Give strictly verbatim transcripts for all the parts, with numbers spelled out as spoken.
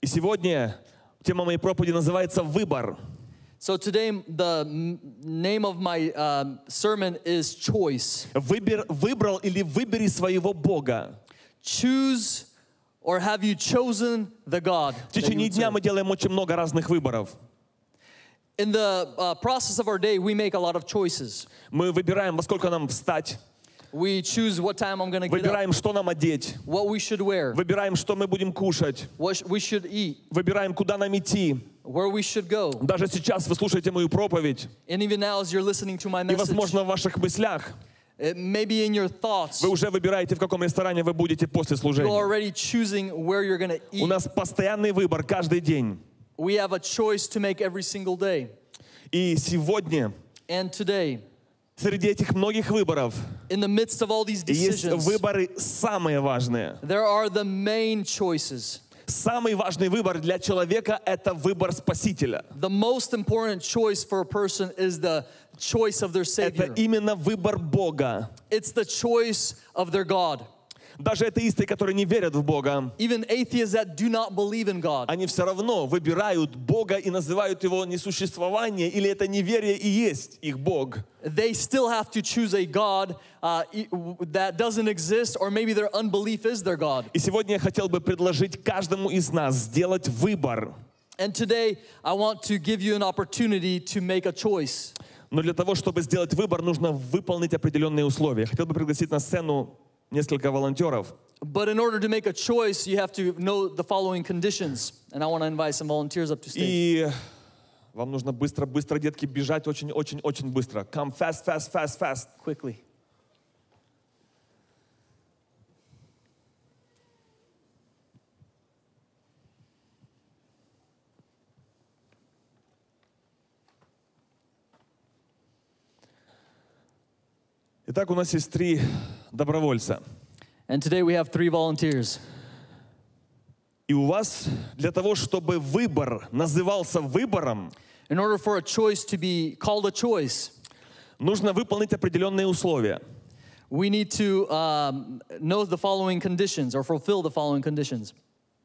И сегодня тема моей проповеди называется «Выбор». So today, the name of my uh, sermon is choice. Выбер, выбрал или выбери своего Бога. Choose, or have you chosen the God? В течение дня мы делаем очень много разных выборов. In the uh, process of our day, we make a lot of choices. Мы выбираем, во сколько нам встать. We choose what time I'm going to get up, Выбираем, что нам одеть. what we should wear, Выбираем, что мы будем кушать. what sh- we should eat, Выбираем, куда нам идти. where we should go. Даже сейчас вы слушаете мою проповедь. And even now, as you're listening to my И, message, возможно, в ваших мыслях it may be in your thoughts, вы уже выбираете, в каком ресторане вы будете после you're служения. already choosing where you're going to У eat. нас постоянный выбор каждый день. We have a choice to make every single day. И сегодня And today, среди этих многих выборов in the midst of all these есть decisions, выборы самые важные. there are the main choices. Самый важный выбор для человека – это выбор Спасителя. The most important choice for a person is the choice of their Это Savior. именно выбор Бога. It's the choice of their God. Даже атеисты, которые не верят в Бога, Even atheists that do not believe in God, они все равно выбирают Бога и называют его несуществование, или это неверие и есть их Бог. they still have to choose a God uh, e- that doesn't exist, or maybe their unbelief is their God. И сегодня я хотел бы предложить каждому из нас сделать выбор. And today, I want to give you an opportunity to make a choice. Но для того, чтобы сделать выбор, нужно выполнить определенные условия. Хотел бы пригласить на сцену несколько волонтеров. But in order to make a choice, you have to know the following conditions. And I want to invite some volunteers up to stage. И вам нужно быстро-быстро, детки, бежать очень-очень-очень быстро. Come fast, fast, fast, fast. Quickly. Итак, у нас есть три добровольца. And today we have three volunteers. И у вас для того, чтобы выбор назывался выбором, In order for a choice to be called a choice, нужно выполнить определенные условия. we need to um, know the following conditions or fulfill the following conditions.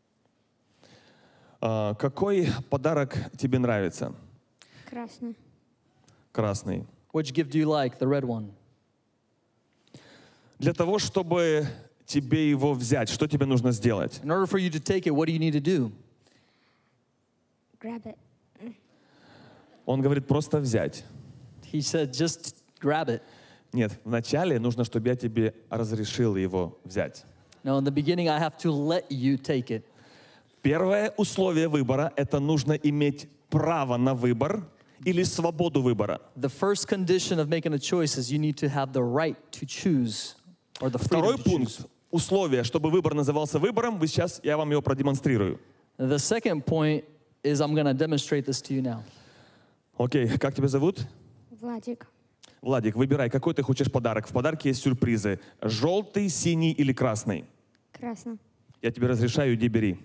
А, какой подарок тебе нравится? Красный. Красный. Which gift do you like? The red one. Для того, чтобы тебе его взять, что тебе нужно сделать? In order for you to take it, what do you need to do? Grab it. Он говорит, просто взять. He said, just grab it. Нет, вначале нужно, чтобы я тебе разрешил его взять. No, in the beginning, I have to let you take it. Первое условие выбора – это нужно иметь право на выбор или свободу выбора. The first condition of making a choice is you need to have the right to choose, or the freedom Второй to пункт, choose. условие, чтобы выбор назывался выбором, вы сейчас, я вам его продемонстрирую. The second point is I'm going to demonstrate this to you now. Окей, как тебя зовут? Владик. Владик, выбирай, какой ты хочешь подарок. В подарке есть сюрпризы. Желтый, синий или красный? Красный. Я тебе разрешаю, иди бери.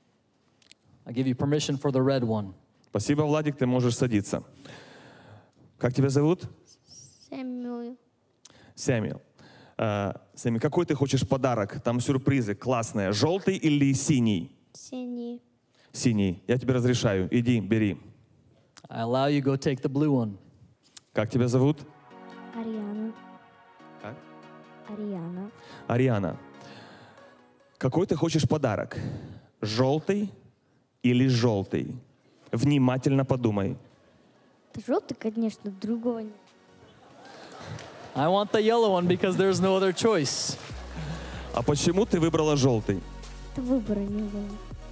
I give you permission for the red one. Спасибо, Владик, ты можешь садиться. Как тебя зовут? Сэмюэл. Сэмюэл. А, Сэмюэл, какой ты хочешь подарок? Там сюрпризы классные. Желтый или синий? Синий. Синий. Я тебе разрешаю. Иди, бери. I allow you go take the blue one. Как тебя зовут? Ариана. Как? Ариана. Ариана. Какой ты хочешь подарок? Желтый или желтый? Внимательно подумай. Это желтый, конечно, другого нет. I want the yellow one because there's no other choice. А почему ты выбрала желтый? Это выбора не было.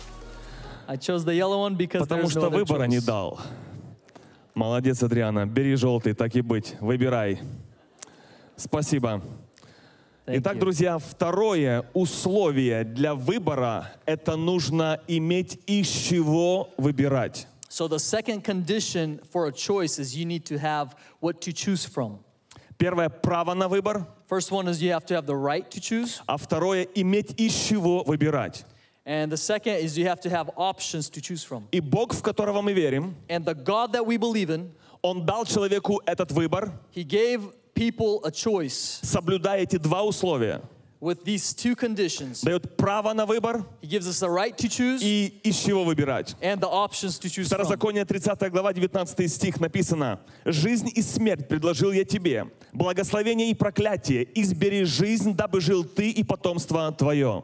I chose the yellow one because Потому there's no что other выбора не choice. дал. Молодец, Адриана. Бери желтый, так и быть. Выбирай. Спасибо. Thank Итак, you. друзья, второе условие для выбора – это нужно иметь из чего выбирать. So the second condition for a choice is you need to have what to choose from. Первое – право на выбор, First one is you have to have the right to choose. а второе – иметь из чего выбирать. And the second is you have to have options to choose from. И Бог, в которого мы верим, And the God that we believe in, Он дал человеку этот выбор, He gave people a choice. соблюдая эти два условия. with these two conditions. Дает право на выбор He gives us the right to choose и из чего выбирать. and the options to choose from. Второзаконие тридцатая глава, девятнадцатый стих написано: «Жизнь и смерть предложил я тебе, благословение и проклятие, избери жизнь, дабы жил ты и потомство твое».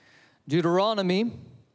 Deuteronomy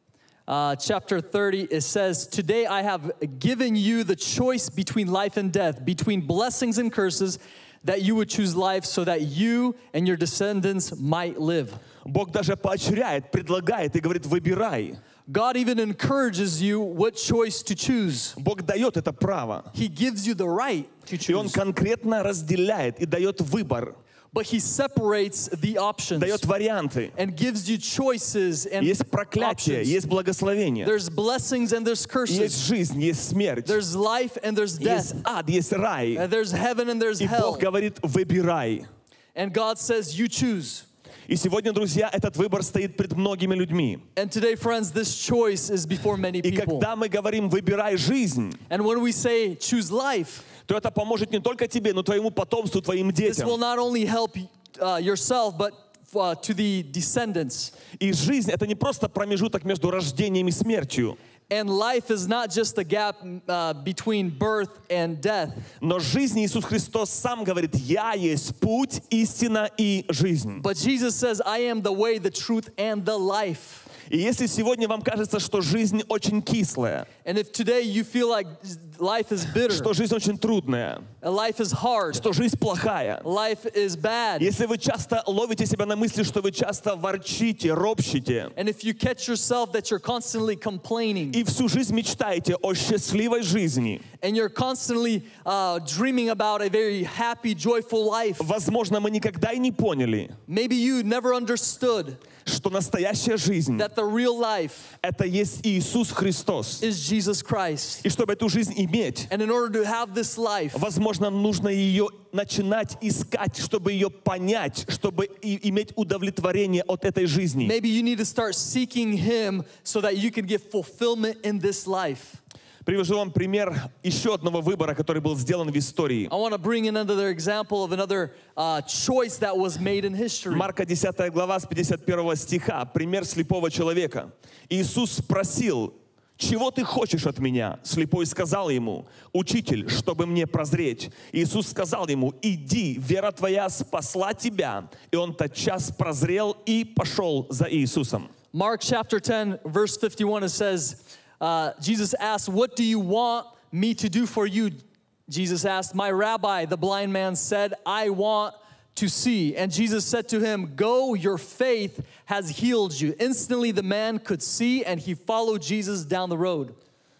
uh, chapter thirty, it says, "Today I have given you the choice between life and death, between blessings and curses, that you would choose life so that you and your descendants might live." Бог даже поощряет, предлагает и говорит: «Выбирай». God even encourages you what choice to choose. Бог дает это право. He gives you the right to И Он choose. конкретно разделяет и дает выбор, But He separates the options дает варианты. and gives you choices and Есть проклятие, options. есть благословение, There's blessings and there's curses. есть жизнь, есть смерть, There's life and there's есть death. ад, есть рай. And there's heaven and there's И hell. Бог говорит: «Выбирай». And God says, you choose. И сегодня, друзья, этот выбор стоит пред многими людьми. And today, friends, this choice is before many И people. когда мы говорим «выбирай жизнь», And when we say choose life, то это поможет не только тебе, но твоему потомству, твоим this will детям. not only help uh, yourself, but uh, to the descendants. И жизнь — это не просто промежуток между рождением и смертью, And life is not just a gap uh, between birth and death. но жизнь Иисус Христос сам говорит: «Я есть путь, истина и жизнь». But Jesus says, I am the way, the truth, and the life. И если сегодня вам кажется, что жизнь очень кислая, And if today you feel like life is bitter, что жизнь очень трудная, and life is hard, что жизнь плохая, life is bad, если вы часто ловите себя на мысли, что вы часто ворчите, ропщите, and if you catch yourself that you're constantly complaining, и всю жизнь мечтаете о счастливой жизни, and you're constantly uh, dreaming about a very happy, joyful life, возможно, мы никогда и не поняли, maybe you never understood что настоящая жизнь that the real life — это есть Иисус Христос. is Jesus Christ. И чтобы эту жизнь иметь, And in order to have this life, возможно, нужно ее начинать искать, чтобы ее понять, чтобы и- иметь удовлетворение от этой жизни. maybe you need to start seeking Him so that you can get fulfillment in this life. Привожу вам пример еще одного выбора, который был сделан в истории. I want to bring in another example of another uh, choice that was made in history. Марка десятая глава с пятьдесят первого стиха. Пример слепого человека. Иисус спросил: «Чего ты хочешь от меня?» Слепой сказал ему: «Учитель, чтобы мне прозреть». Иисус сказал ему: «Иди, вера твоя спасла тебя». И он тотчас прозрел и пошел за Иисусом. Mark chapter ten, verse fifty-one, it says, uh, Jesus asked, "What do you want me to do for you?" Jesus asked, "My rabbi," the blind man said, "I want to see." And Jesus said to him, "Go, your faith has healed you." Instantly the man could see, and he followed Jesus down the road.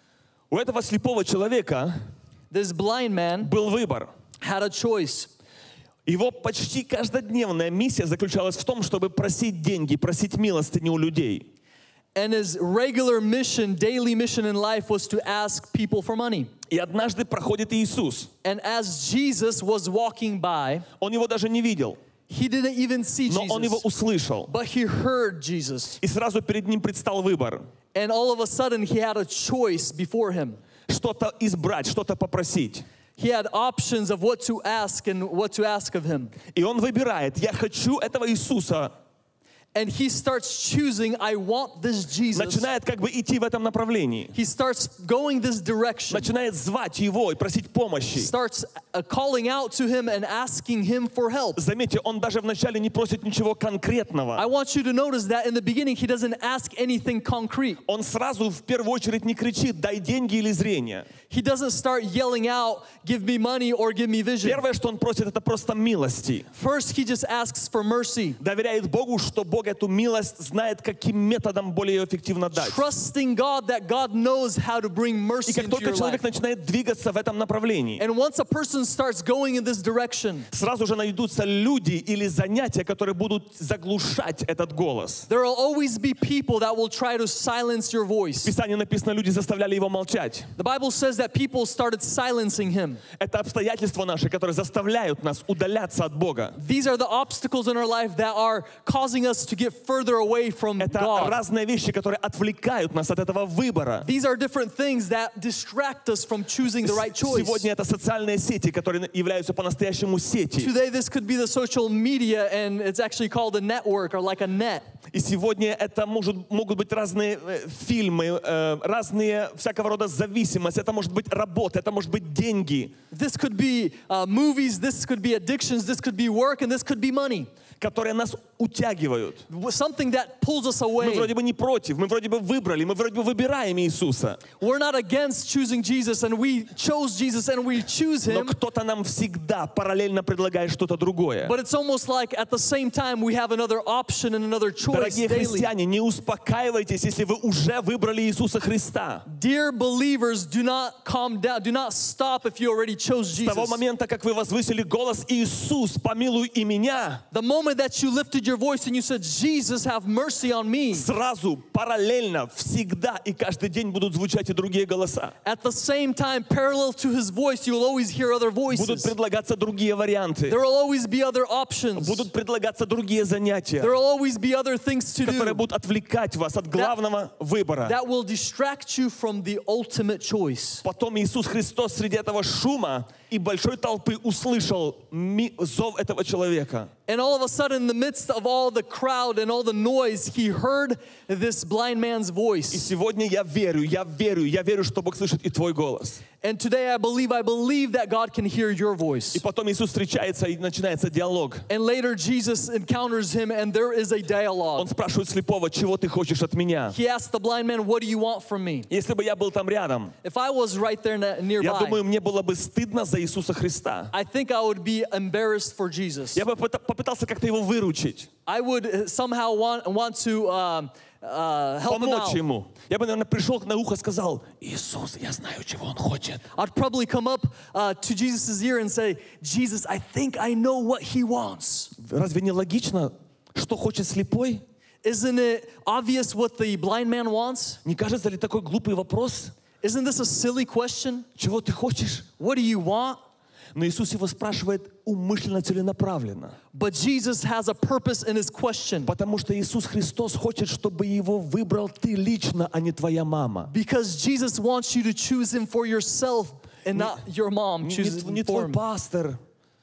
У этого слепого человека This blind man был выбор. had a choice. Его почти каждодневная миссия заключалась в том, чтобы просить деньги, просить милостыни у людей. And his regular mission, daily mission in life was to ask people for money. И однажды проходит Иисус. And as Jesus was walking by, Он его даже не видел, he didn't even see но он его Jesus, услышал. but he heard Jesus. И сразу перед ним предстал выбор. And all of a sudden, he had a choice before him. Что-то избрать, что-то попросить. He had options of what to ask and what to ask of him. И он выбирает: «Я хочу этого Иисуса». And he starts choosing, I want this Jesus. Начинает как бы идти в этом направлении. He starts going this direction. Начинает звать его и просить помощи. Starts uh, calling out to him and asking him for help. Заметьте, он даже вначале не просит ничего I конкретного. want you to notice that in the beginning, he doesn't ask anything concrete. Он сразу в первую очередь не кричит: «Дай деньги или зрение». He doesn't start yelling out, give me money or give me vision. Первое, что он просит, это просто милости. First, he just asks for mercy. Доверяет Богу, что Бог эту милость знает, каким методом более эффективно дать. Trusting God that God knows how to bring И mercy как into только your человек life. начинает двигаться в этом направлении, And once a person starts going in this direction, сразу же найдутся люди или занятия, которые будут заглушать этот голос. there will always be people that will try to silence your В voice. Писании написано, люди заставляли его молчать. The Bible says that people started silencing him. Это обстоятельства наши, которые заставляют нас удаляться от Бога. These are the obstacles in our life that are causing us to get further away from Это God. разные вещи, которые отвлекают нас от этого выбора. These are different things that distract us from choosing the right choice. Сегодня это социальные сети, которые являются по-настоящему сети. Today, this could be the social media, and it's actually called a network or like a net. И сегодня это может, могут быть разные э, фильмы, э, разные всякого рода зависимости. Это может быть работа, это может быть деньги, This could be uh, movies, this could be addictions, this could be work, and this could be money. которые нас утягивают. Something that pulls us Мы away. вроде бы не против, мы вроде бы выбрали, мы вроде бы выбираем Иисуса. We're not against choosing Jesus, and we chose Jesus, and we choose Но Him. кто-то нам всегда параллельно предлагает что-то другое. But it's almost like at the same time we have another option and another choice Дорогие daily. христиане, не успокаивайтесь, если вы уже выбрали Иисуса Христа. Dear believers, do not calm down. Do not stop if you already chose С того Jesus. момента, как вы возвысили голос «Иисус, помилуй и меня», The moment that you lifted your voice and you said, Jesus, have mercy on me, сразу, параллельно, всегда и каждый день будут звучать и другие голоса. at the same time, parallel to His voice, you will always hear other Будут voices. предлагаться другие варианты. There will always be other options. Будут предлагаться другие занятия, There will always be other things to которые do будут отвлекать вас от главного выбора. that will distract you from the ultimate choice. Потом Иисус Христос среди этого шума и большой толпы услышал ми- зов этого человека. And all of a sudden, in the midst of all the crowd and all the noise, He heard this blind man's И voice. сегодня я верю, я верю, я верю, что Бог слышит и твой голос. And today I believe, I believe that God can hear your voice. И потом Иисус встречается, и начинается диалог. And later Jesus encounters him and there is a Он dialogue. спрашивает слепого, чего ты хочешь от меня? He asked the blind man, what do you want from me? Если бы я был там рядом, If I was right there na- я nearby, думаю, мне было бы стыдно за Иисуса Христа. I think I would be embarrassed for Jesus. Я бы попыта- попытался как-то его выручить, I would uh, somehow want, want to um, uh, help him помочь out. ему. Я бы, наверное, пришел на ухо, сказал: Иисус, я знаю, чего он хочет. I'd probably come up uh, to Jesus' ear and say, Jesus, I think I know what he wants. Разве не логично, что хочет слепой? Isn't it obvious what the blind man wants? Не кажется ли такой глупый вопрос? Isn't this a silly question? Чего ты хочешь? What do you want? Но Иисус его спрашивает умышленно, целенаправленно. But Jesus has a purpose in his question. Потому что Иисус Христос хочет, чтобы его выбрал ты лично, а не твоя мама. Because Jesus wants you to choose him for yourself and not your mom Не, chooses не him for твой him. пастор,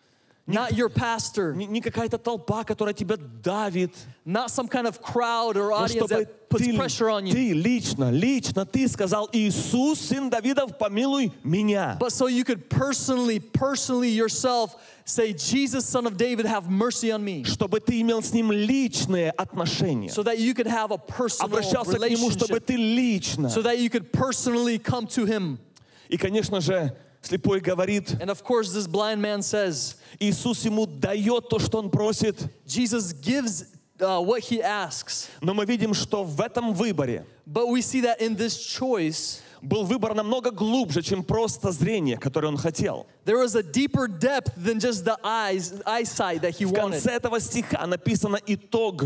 Not your pastor. не, не какая-то толпа, которая тебя давит. Not some kind of crowd or Но audience чтобы that puts ты, pressure on you. ты лично, лично, ты сказал: Иисус, сын Давидов, помилуй меня. But so you could personally, personally yourself say, Jesus, son of David, have mercy on me. Чтобы ты имел с ним личные отношения. So that you could have a personal Обращался к нему, чтобы relationship. ты лично. So that you could personally come to him. И, конечно же, слепой говорит, And of course, this blind man says, Иисус ему дает то, что он просит. Jesus gives uh, what he asks. Но мы видим, что в этом выборе But we see that in this choice, был выбор намного глубже, чем просто зрение, которое он хотел. there was a deeper depth than just the eyes, eyesight that he В wanted. конце этого стиха написано итог.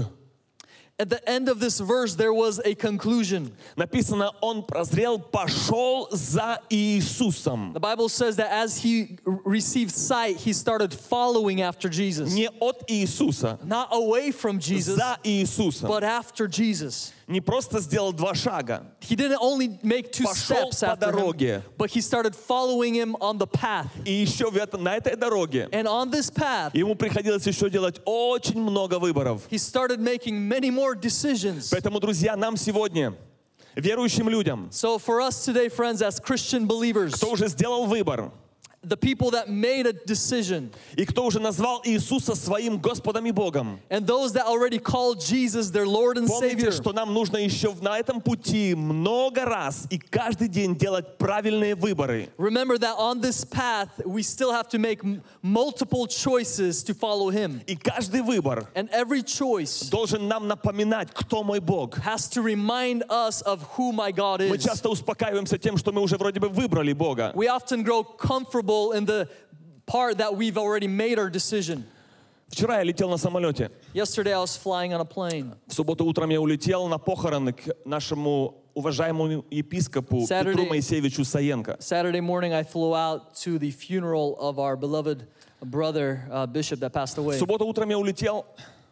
At the end of this verse, there was a conclusion. Написано, он прозрел, пошел за Иисусом. The Bible says that as he r- received sight, he started following after Jesus. Не от Иисуса, Not away from Jesus, за Иисусом. but after Jesus. Не просто сделал два шага. He didn't only make two Пошел steps по after him, дороге. but he started following him on the path. И еще в это- на этой дороге And on this path, ему приходилось еще делать очень много выборов. he started making many more decisions. Поэтому, друзья, нам сегодня, верующим людям, So for us today, friends, as Christian believers, кто уже сделал выбор, the people that made a decision, и кто уже назвал Иисуса своим Господом и Богом, and those that already called Jesus their Lord and Savior, помните, что нам нужно еще на этом пути много раз и каждый день делать правильные выборы. remember that on this path, we still have to make m- multiple choices to follow Him. И каждый выбор And every choice должен нам напоминать, кто мой Бог. has to remind us of who my God Мы is. часто успокаиваемся тем, что мы уже вроде бы выбрали Бога. We often grow comfortable in the part that we've already made our decision. Вчера я летел на самолете. Yesterday I was flying on a plane. В субботу утром я улетел на похороны к нашему уважаемому епископу Saturday. Петру Моисеевичу Саенко. Saturday morning I flew out to the funeral of our beloved brother, uh, bishop that passed В away. субботу утром я улетел,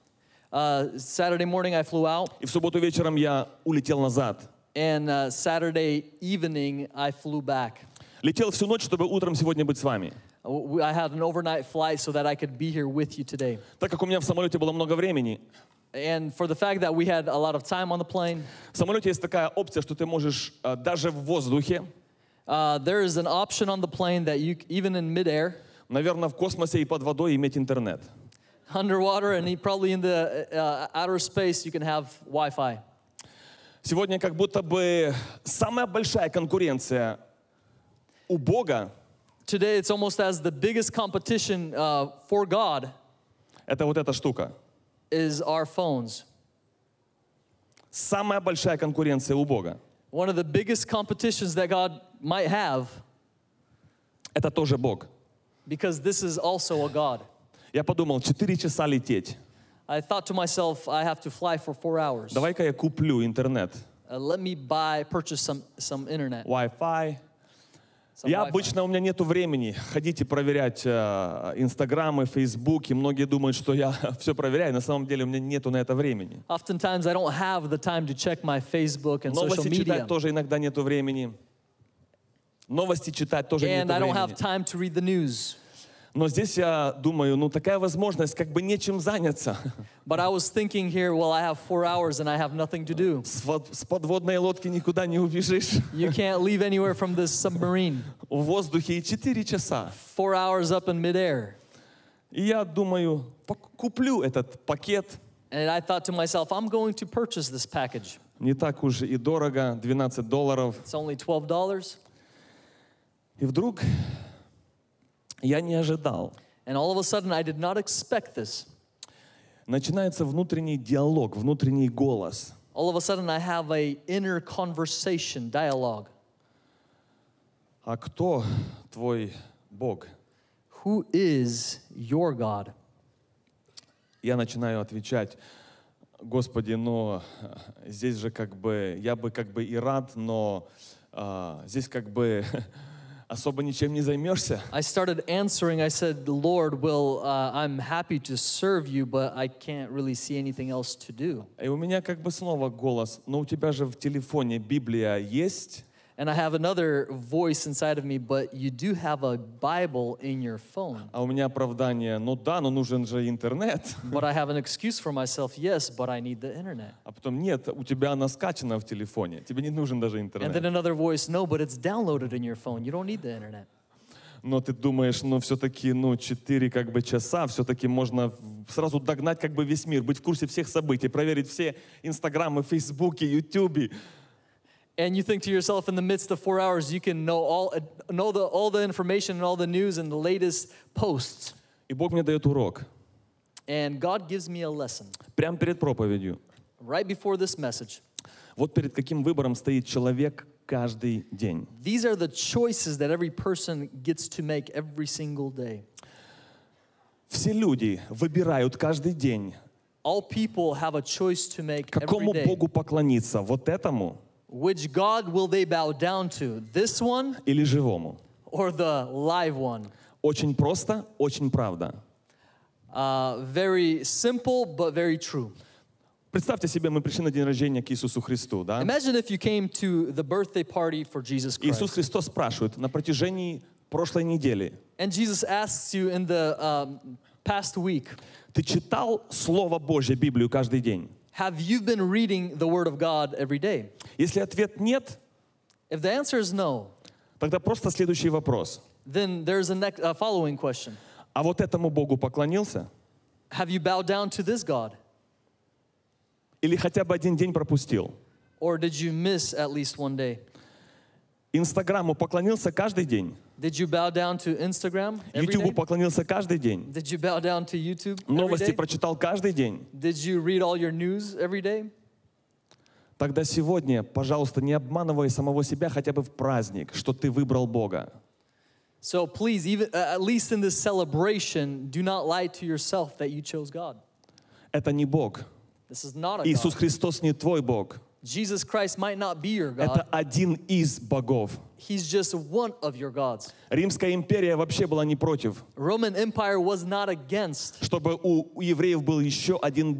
Uh, Saturday morning I flew out, И в субботу вечером я улетел назад. and uh, Saturday evening I flew back. Летел всю ночь, чтобы утром сегодня быть с вами. Uh, I had an overnight flight so that I could be here with you today. Так как у меня в самолете было много времени, And for the fact that we had a lot of time on the plane, в самолете есть такая опция, что ты можешь э, даже в воздухе, uh, there is an option on the plane that you, even in midair, наверное, в космосе и под водой иметь интернет. underwater, and probably in the uh, outer space, you can have Wi-Fi. Сегодня как будто бы самая большая конкуренция у Бога Today, it's almost as the biggest competition uh, for God — это вот эта штука. is our phones. Самая большая конкуренция у Бога One of the biggest competitions that God might have, — это тоже Бог. because this is also a God. Я подумал, четыре часа лететь. I thought to myself, I have to fly for four hours. Давай-ка я куплю интернет, Uh, let me buy, purchase some, some internet. Wi-Fi. Some Я Wi-Fi. обычно, у меня нету времени ходить и проверять э, Инстаграмы, Фейсбуки. Многие думают, что я все проверяю. На самом деле у меня нету на это времени. Oftentimes, I don't have the time to check my Facebook and social Новости media. читать тоже иногда нету времени. Новости читать тоже And нету I don't have времени. time to read the news. Но здесь я думаю, ну такая возможность, как бы нечем заняться. But I was thinking here, well, I have four hours and I have nothing to do. С, вод- с подводной лодки никуда не убежишь. You can't leave anywhere from this submarine. В воздухе и четыре часа. Four hours up in midair. И я думаю, пок- куплю этот пакет. And I thought to myself, I'm going to purchase this package. Не так уж и дорого, двенадцать долларов. It's only twelve dollars. И вдруг я не ожидал. And all of a sudden, I did not expect this. Начинается внутренний диалог, внутренний голос. All of a sudden, I have a inner conversation, dialogue. А кто твой Бог? Who is your God? Я начинаю отвечать, Господи, но здесь же как бы, я бы как бы и рад, но а, здесь как бы особо ничем не займешься. I started answering. I said, Lord, well, uh, I'm happy to serve you, but I can't really see anything else to do. И у меня как бы снова голос, но у тебя же в телефоне Библия есть? And I have another voice inside of me, but you do have a Bible in your phone. А у меня оправдание, ну да, но нужен же интернет. But I have an excuse for myself, yes, but I need the internet. А потом нет, у тебя она скачана в телефоне, тебе не нужен даже And интернет. then another voice, no, but it's downloaded in your phone. You don't need the internet. Но ты думаешь, ну все-таки, ну четыре как бы часа, все-таки можно сразу догнать как бы весь мир, быть в курсе всех событий, проверить все инстаграмы, фейсбуки, ютубе. And you think to yourself, in the midst of four hours, you can know all, know the, all the information and all the news and the latest posts. И Бог мне дает урок. And God gives me a lesson Прямо перед проповедью. right before this message. Вот перед каким выбором стоит человек каждый день. These are the choices that every person gets to make every single day. Все люди выбирают каждый день, All people have a choice to make every какому day. Богу поклониться, вот этому Which God will they bow down to? This one или живому. or the live one? Очень просто, очень правда. Uh, very simple, but very true. Представьте себе, мы пришли на день рождения к Иисусу Христу, да? Imagine if you came to the birthday party for Jesus Иисус Christ. Христос спрашивает на протяжении прошлой недели: And Jesus asks you in the um, past week, ты читал Слово Божье, Библию каждый день? have you been reading the Word of God every day? Если ответ нет, If the answer is no, тогда просто следующий вопрос. then there's a next, uh, following question. А вот этому Богу поклонился? Have you bowed down to this God? Или хотя бы один день пропустил? Or did you miss at least one day? Инстаграму поклонился каждый день? Did you bow down to Instagram every Ютубу day? поклонился каждый день? Did you bow down to YouTube every Новости day? прочитал каждый день? Did you read all your news every day? Тогда сегодня, пожалуйста, не обманывай самого себя хотя бы в праздник, что ты выбрал Бога. So please, even uh, at least in this celebration, do not lie to yourself that you chose God. Это не Бог. This is not a Иисус God. Христос не твой Бог. Jesus Christ might not be your Это God. один из богов. He's just one of your gods. Римская империя вообще была не против, Roman Empire was not against чтобы у у евреев был еще один Бог.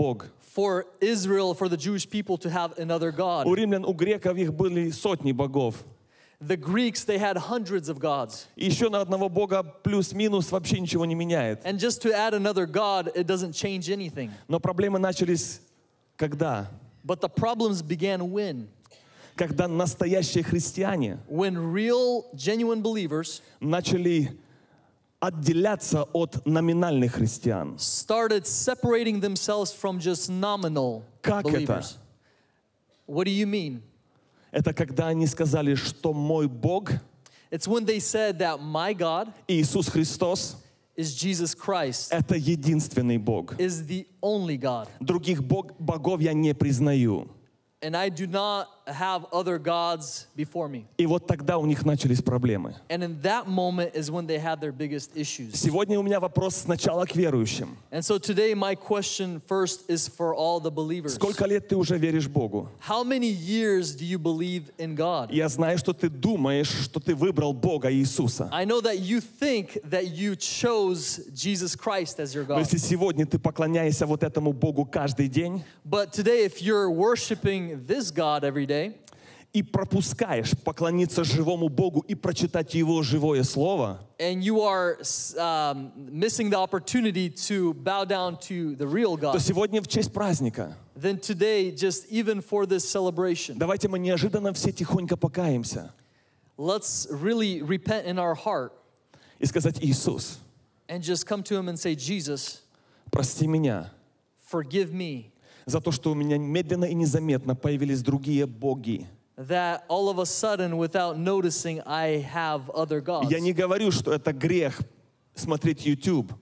for Israel, for the Jewish people to have another God. У римлян, у греков их были сотни богов. The Greeks, they had hundreds of gods. И еще на одного бога плюс-минус вообще ничего не меняет. And just to add another God, it doesn't change anything. Но проблемы начались когда? But the problems began when? Когда настоящие христиане When real, genuine believers начали отделяться от номинальных христиан. started separating themselves from just nominal Как это? believers. What do you mean? Это когда они сказали, что мой Бог, It's when they said that my God Иисус Христос, is Jesus Christ, это единственный Бог. is the only God. Других бог, богов я не признаю. And I do not have other gods before me. И вот тогда у них начались проблемы. And in that moment is when they had their biggest issues. Сегодня у меня вопрос сначала к верующим. And so today my question first is for all the believers. Сколько лет ты уже веришь Богу? How many years do you believe in God? Я знаю, что ты думаешь, что ты выбрал Бога Иисуса. I know that you think that you chose Jesus Christ as your Но God. если сегодня ты поклоняешься вот этому Богу каждый день But today, if you're worshiping this God every day, и пропускаешь поклониться живому Богу и прочитать Его живое Слово, and you are um, missing the opportunity to bow down to the real то God, сегодня в честь праздника then today, just even for this celebration, давайте мы неожиданно все тихонько покаемся let's really repent in our heart и сказать: Иисус, and just come to Him and say, Jesus, прости меня forgive me за то, что у меня медленно и незаметно появились другие боги. that all of a sudden, without noticing, I have other gods. Я не говорю, что это грех смотреть YouTube.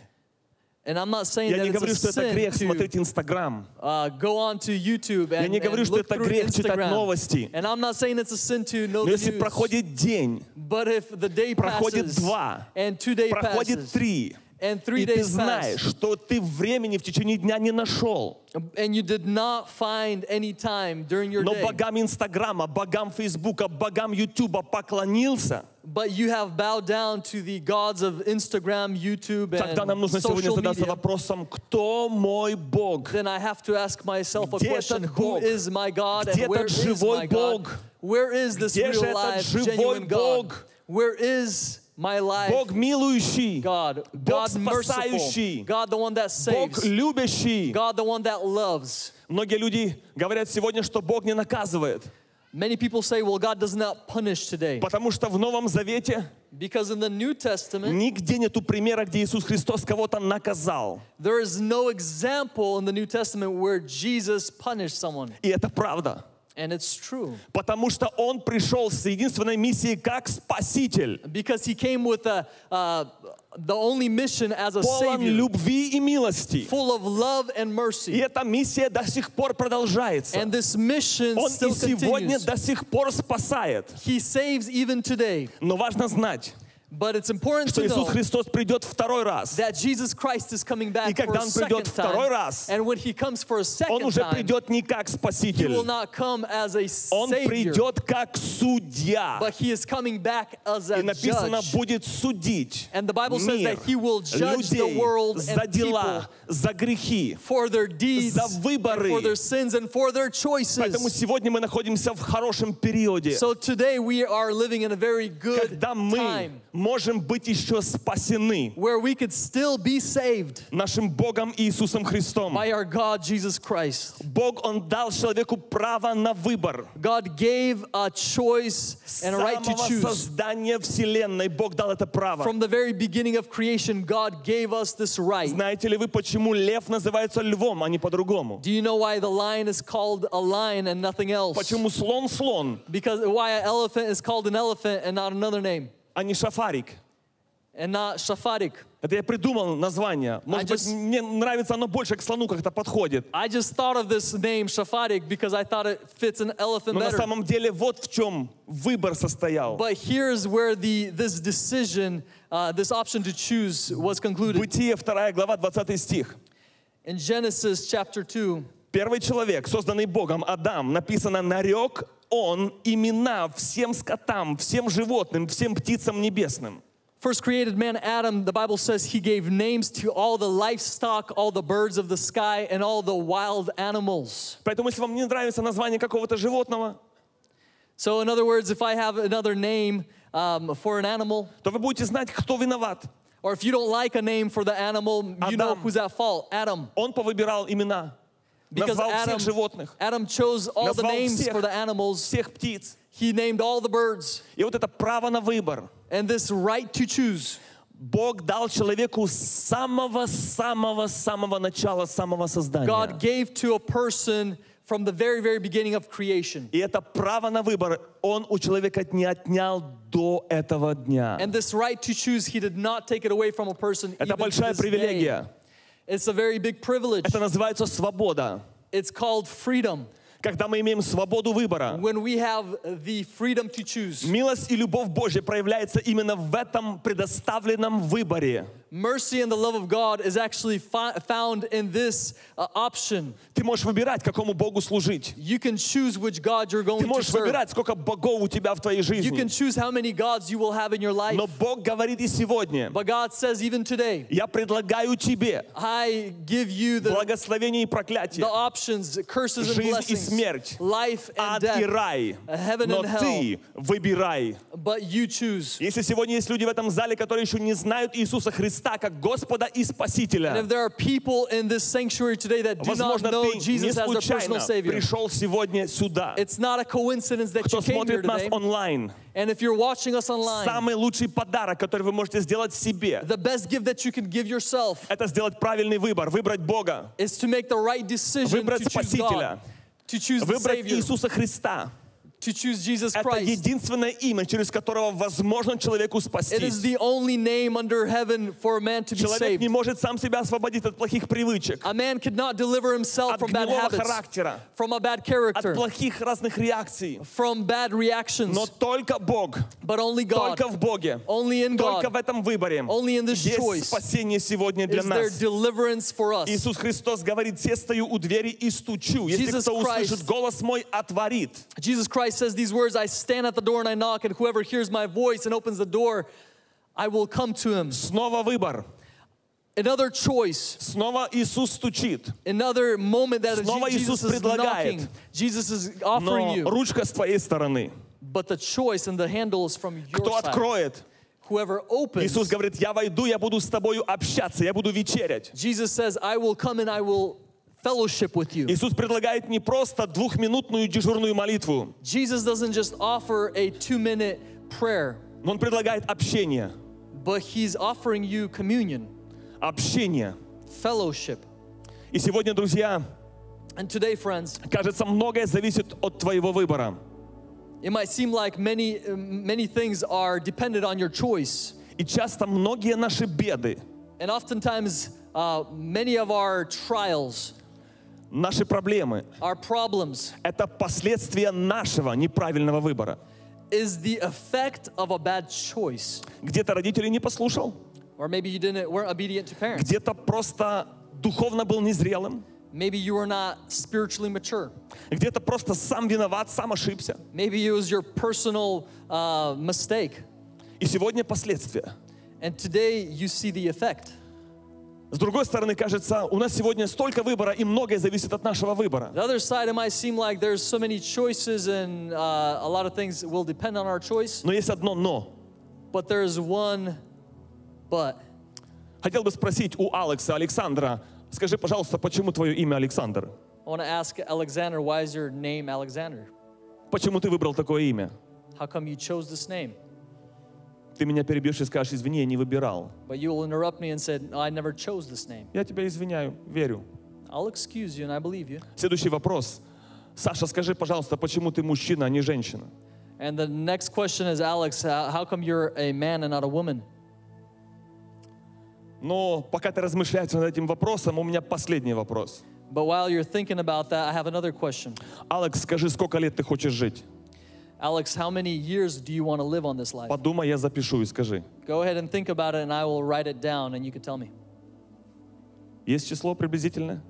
And I'm not saying Я that не говорю, it's что a это sin грех to смотреть Инстаграм. uh, go on to YouTube Я and, не говорю, and что look это through грех читать Instagram. новости. And I'm not saying it's a sin to know Но the если news. проходит день, But if the day проходит passes два, and two days проходит passes три, and three и ты days знаешь, pass что ты времени в течение дня не нашел, and you did not find any time during your но day, богам Инстаграма, богам Фейсбука, богам Ютуба поклонился, but you have bowed down to the gods of Instagram, YouTube, тогда нам and нужно сегодня social задаться media, вопросом: кто мой Бог? then I have to ask myself a Где question: этот who Бог? is my God Где and where этот is живой my God? Бог? Where is this Где же real этот life, живой genuine God? Бог? Where is my life? Бог милующий, God, Бог God merciful, спасающий, God the one that Бог saves, любящий. God the one that loves. Многие люди говорят сегодня, что Бог не наказывает, Many people say, well, God does not punish today. потому что в Новом Завете Because in the New Testament, нигде нету примера, где Иисус Христос кого-то наказал. there is no example in the New Testament where Jesus punished someone. И это правда. And it's true. Потому что Он пришел с единственной миссией как Спаситель, Because he came with a, uh, the only mission as a полон savior, любви и милости. full of love and И mercy. эта миссия до сих пор продолжается. And this mission Он still и сегодня continues. до сих пор спасает. He saves even today. Но важно знать, But it's important что to Иисус know Христос придет второй раз. that Jesus Christ is coming back И for когда a Он second придет второй time. раз, And when he comes for a Он second уже time, придет не как he Спаситель. will not come as a Он savior, придет как судья. but he is coming back as И a написано, judge. будет судить And the Bible says мир, that he will judge the людей world за and дела, people за грехи. for their deeds, за and выборы. for their sins, and for their Поэтому choices. сегодня мы находимся в хорошем периоде, So today we are living in a very good когда мы time можем быть еще спасены where we could still be saved нашим Богом Иисусом Христом. by our God Jesus Christ. Бог, Он дал человеку право на выбор. God gave a choice С and a right to самого choose. создания Вселенной Бог дал это право. From the very beginning of creation, God gave us this right. Знаете ли вы, почему лев называется львом, а не по-другому? Do you know why the lion is called a lion and nothing else? Почему слон слон, Because why an elephant is called an elephant and not another name, а не шафарик? and not shafarik. Это я придумал название. Может быть, just- мне нравится оно больше к слону как-то подходит. I just thought of this name shafarik because I thought it fits an elephant Но на better. самом деле вот в чем выбор состоял. But here's where the this decision, uh, this option to choose was concluded. Бытие, вторая глава, двадцатый стих. In Genesis chapter two, Первый человек, созданный Богом, Адам, написано, нарек он имена всем скотам, всем животным, всем птицам небесным. first created man, Adam, the Bible says he gave names to all the livestock, all the birds of the sky, and all the wild animals. Поэтому, если вам не нравится название какого-то животного, So in other words, if I have another name um, for an animal, то вы будете знать, кто виноват. or if you don't like a name for the animal, you know Адам. who's at fault. Adam. Он повыбирал имена, Because назвал Adam, всех животных, Adam chose all the назвал names всех, for the animals. всех птиц. He named all the birds. И вот это право на выбор And this right to choose, Бог дал человеку с самого-самого-самого начала, самого создания. God gave to a person from the very, very beginning of creation. И это право на выбор Он у человека не отнял до этого дня. And this right to choose, he did not take it away from a person Это even to большая this day. привилегия. It's a very big privilege. Это называется свобода. It's called freedom. Когда мы имеем свободу выбора, When we have the freedom to choose. милость и любовь Божья проявляется именно в этом предоставленном выборе. Mercy and the love of God is actually fi- found in this uh, option. Ты можешь выбирать, какому Богу служить. You can choose which God you're going Ты to можешь serve. выбирать, сколько богов у тебя в твоей You can жизни. choose how many gods you will have in your life. Но Бог говорит и сегодня, But God says even today, я предлагаю тебе I give you the, благословение и the проклятие, options, curses and жизнь и blessings, смерть, life and ад и death, рай. heaven Но and hell. ты выбирай. But you choose. Если сегодня есть люди в этом зале, которые еще не знают Иисуса Христа как Господа и And Спасителя, if there are people in this sanctuary today that do not возможно, know ты не Jesus as their personal случайно Savior, пришел сегодня сюда. it's not a coincidence that Кто you came here смотрит нас today. онлайн, And if you're watching us online, самый лучший подарок, который вы можете сделать себе, the best gift that you can give yourself это сделать правильный выбор, выбрать Бога, is to make the right decision выбрать to choose Спасителя, God, to choose the выбрать Savior, Иисуса Христа. to choose Jesus Это Christ. единственное имя, через которого возможно человеку It is спастись. the only name under heaven for a man to be Человек saved. не может сам себя освободить от плохих привычек, A man could not deliver himself от from bad гнилого habits, характера, from a bad от character, плохих разных реакций. from bad reactions, Но только Бог, but only God, только в Боге, only in только God, в этом выборе only in this есть choice спасение сегодня для is there нас. deliverance for us. Иисус Христос говорит: «Се стою у двери и стучу. Если Jesus кто Christ- услышит голос мой, отворит». Jesus Christ says these words, I stand at the door and I knock, and whoever hears my voice and opens the door, I will come to him. Снова выбор. Another choice, Снова Иисус стучит. another moment that Снова Jesus Иисус is предлагает. knocking. Jesus is offering Но you, ручка с твоей стороны. but the choice and the handle is from your Кто side. откроет? Whoever opens, Иисус говорит: «Я войду, я буду с тобою общаться, я буду вечерять». Jesus says, I will come and I will fellowship with you. Иисус предлагает не просто двухминутную дежурную молитву, Jesus doesn't just offer a two-minute prayer, но Он предлагает общение. but he's offering you communion, Общение. fellowship. И сегодня, друзья, And today, friends, кажется, многое зависит от твоего выбора. it might seem like many, many things are dependent on your choice. И часто многие наши беды, And oftentimes, uh, many of our trials, наши проблемы our problems, — это последствия нашего неправильного выбора. is the effect of a bad choice. Где-то родителей не послушал, Or maybe you didn't, weren't obedient to parents. где-то просто духовно был незрелым, Maybe you were not spiritually mature. где-то просто сам виноват, сам ошибся. Maybe it was your personal uh, mistake. И сегодня последствия. And today you see the effect. С другой стороны, кажется, у нас сегодня столько выбора, и многое зависит от нашего выбора. The other side, it might seem like there's so many choices and uh, a lot of things will depend on our choice. Но есть одно «но». But there's one but. Хотел бы спросить у Алекса, Александра, скажи, пожалуйста, почему твое имя Александр? I want to ask Alexander, why is your name Alexander? Почему ты выбрал такое имя? How come you chose this name? Ты меня перебьешь и скажешь: извини, я не выбирал. But you will interrupt me and said, no, I never chose this name. Я тебя извиняю, верю. I'll excuse you and I believe you. Следующий вопрос. Саша, скажи, пожалуйста, почему ты мужчина, а не женщина? And the next question is, Alex, how how come you're a man and not a woman? Но пока ты размышляешь над этим вопросом, у меня последний вопрос. But while you're thinking about that, I have another question. Алекс, скажи, сколько лет ты хочешь жить? Alex, how many years do you want to live on this life? Подумай, я запишу и скажи. Go ahead and think about it and I will write it down and you can tell me. Есть число приблизительное?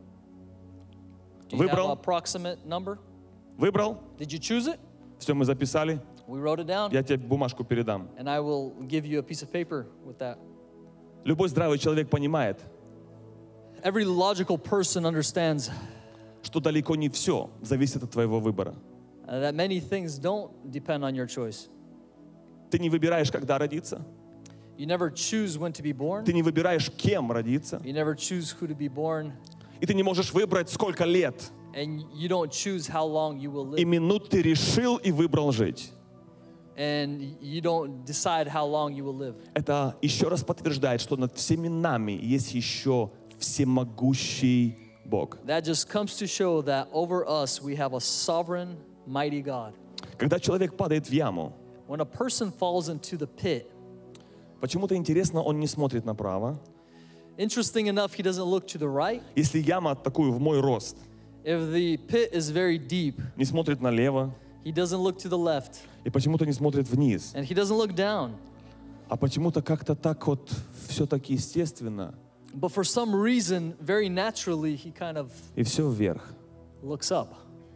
Do you have Выбрал? an approximate number? Выбрал? Did you choose it? Все, мы записали. We wrote it down, Я тебе бумажку передам. and I will give you a piece of paper with that. Любой здравый человек понимает, Every logical person understands что далеко не все зависит от твоего выбора. uh, that many things don't depend on your choice. Ты не выбираешь, когда родиться. You never choose when to be born. Ты не выбираешь, кем родиться. You never choose who to be born. И ты не можешь выбрать, сколько лет. And you don't choose how long you will И live. минут ты решил и выбрал жить. And you don't decide how long you will live. Это еще раз подтверждает, что над всеми нами есть еще всемогущий Бог. That just comes to show that over us we have a sovereign, mighty God. Когда человек падает в яму, When a person falls into the pit, почему-то интересно, он не смотрит направо. interesting enough, he doesn't look to the right. Если яма такую в мой рост, If the pit is very deep, не смотрит налево he doesn't look to the left. и почему-то не смотрит вниз, And he doesn't look down. а почему-то как-то так вот все-таки естественно, But for some reason, very naturally, he kind of и все вверх. looks up.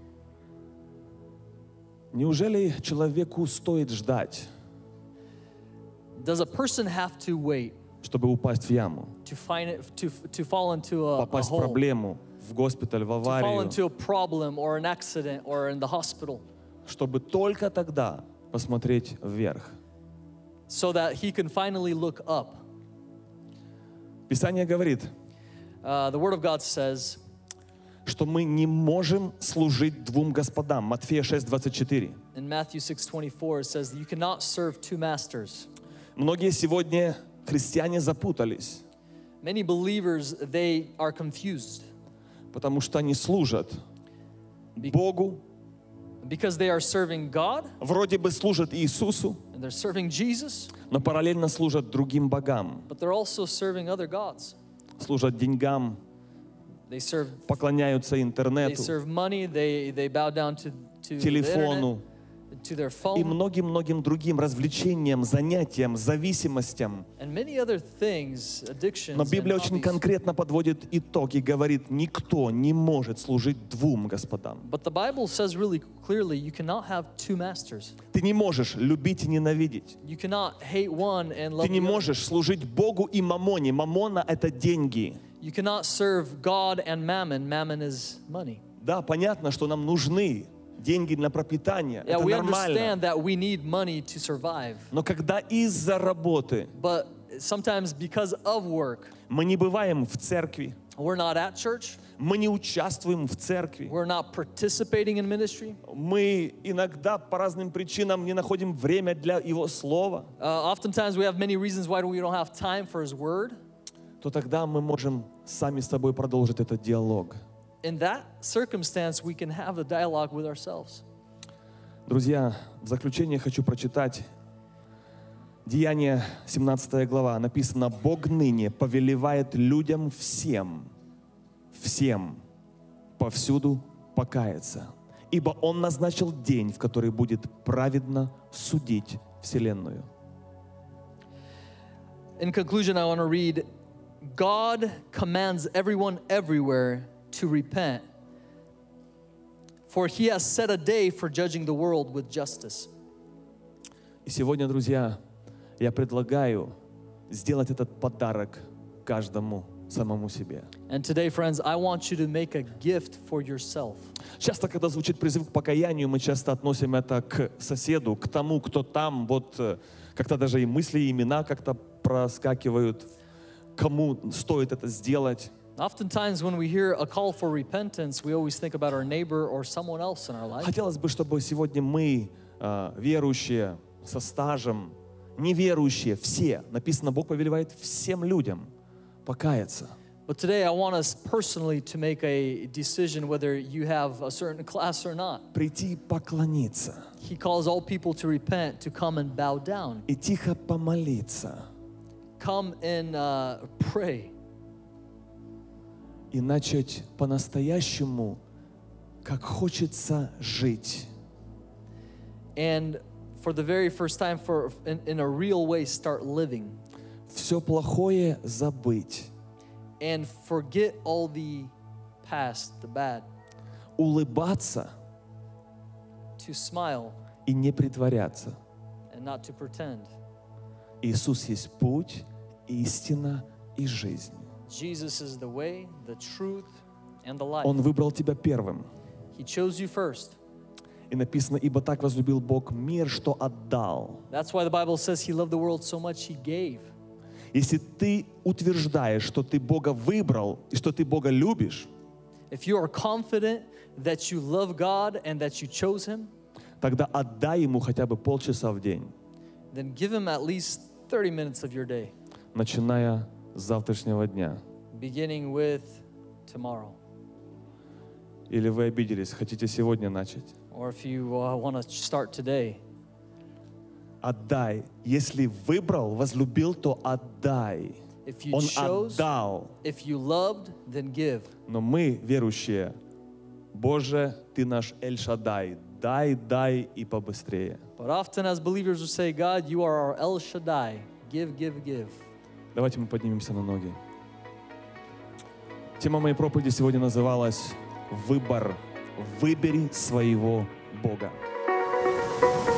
Неужели человеку стоит ждать, Does a person have to wait чтобы упасть в яму, to find it, to, to fall into a, a попасть в hole, проблему, в госпиталь, в to fall аварию, into a problem or an accident or in the hospital, чтобы только тогда посмотреть вверх? so that he can finally look up? Писание говорит, Uh, the Word of God says что мы не можем служить двум господам. Матфея шесть двадцать четыре. in Matthew six twenty-four, it says that you cannot serve two masters. Многие сегодня христиане запутались, Many believers, they are confused потому что они служат Богу, because they are serving God вроде бы служат Иисусу, and they're serving Jesus, но параллельно служат другим богам, but they're also serving other gods. служат деньгам, They serve поклоняются they интернету, serve money, they, they bow down to, to the телефону internet, to their и phone, многим-многим другим развлечениям, занятиям, зависимостям. and many other things, addictions Но and Библия очень hobbies. конкретно подводит итог и говорит, никто не может служить двум господам. But the Bible says really clearly, you cannot have two masters. Ты не можешь любить и ненавидеть. You cannot hate one and love Ты не the other. можешь служить Богу и мамоне. Мамона — это деньги. You cannot serve God and mammon. Mammon is money. Да, понятно, что нам нужны деньги для пропитания. Yeah, Это we нормально. understand that we need money to survive. Но когда из-за работы But sometimes because of work, мы не бываем в церкви, we're not at church, мы не участвуем в церкви, we're not participating in ministry. мы иногда по разным причинам не находим время для Его Слова, Uh, oftentimes we have many reasons why we don't have time for His Word. то тогда мы можем сами с собой продолжить этот диалог. In that circumstance, we can have a dialogue with ourselves. Друзья, в заключение хочу прочитать Деяния, семнадцатая глава. Написано: «Бог ныне повелевает людям всем, всем повсюду покаяться, ибо Он назначил день, в который будет праведно судить вселенную». In conclusion, I want to read, God commands everyone everywhere to repent, for He has set a day for judging the world with justice. И сегодня, друзья, я предлагаю сделать этот подарок каждому самому себе. And today, friends, I want you to make a gift for yourself. Часто, когда звучит призыв к покаянию, мы часто относим это к соседу, к тому, кто там, вот э, как-то даже и мысли, и имена как-то проскакивают, кому стоит это сделать. Oftentimes, when we hear a call for repentance, we always think about our neighbor or someone else in our life. Хотелось бы, чтобы сегодня мы, э, верующие, со стажем, неверующие, все, написано, Бог повелевает всем людям покаяться. But today, I want us personally to make a decision whether you have a certain class or not. Прийти поклониться He calls all people to repent, to come and bow down. и тихо помолиться, Come and uh, pray. и начать по-настоящему, как хочется жить. And for the very first time, for in, in a real way, start living. Все плохое забыть, And forget all the past, the bad. улыбаться To smile и не притворяться. and not to pretend. Иисус есть путь, истина и жизнь. Jesus is the way, the truth, and the life. Он выбрал тебя первым. He chose you first. И написано, ибо так возлюбил Бог мир, что отдал. That's why the Bible says He loved the world so much He gave. Если ты утверждаешь, что ты Бога выбрал и что ты Бога любишь, If you are confident that you love God and that you chose Him, тогда отдай Ему хотя бы полчаса в день, then give Him at least thirty minutes of your day, начиная с завтрашнего дня. beginning with tomorrow. Или вы обиделись, хотите сегодня начать? Or if you uh, want to start today, Отдай. Если выбрал, возлюбил, то отдай. if you Он chose, отдал. if you loved, then give. Но мы, верующие, Боже, Ты наш Эль-Шаддай, дай, дай и побыстрее. But often as believers we say, God, you are our El Shaddai. Give, give, give. Давайте мы поднимемся на ноги. Тема моей проповеди сегодня называлась «Выбор. Выбери своего Бога».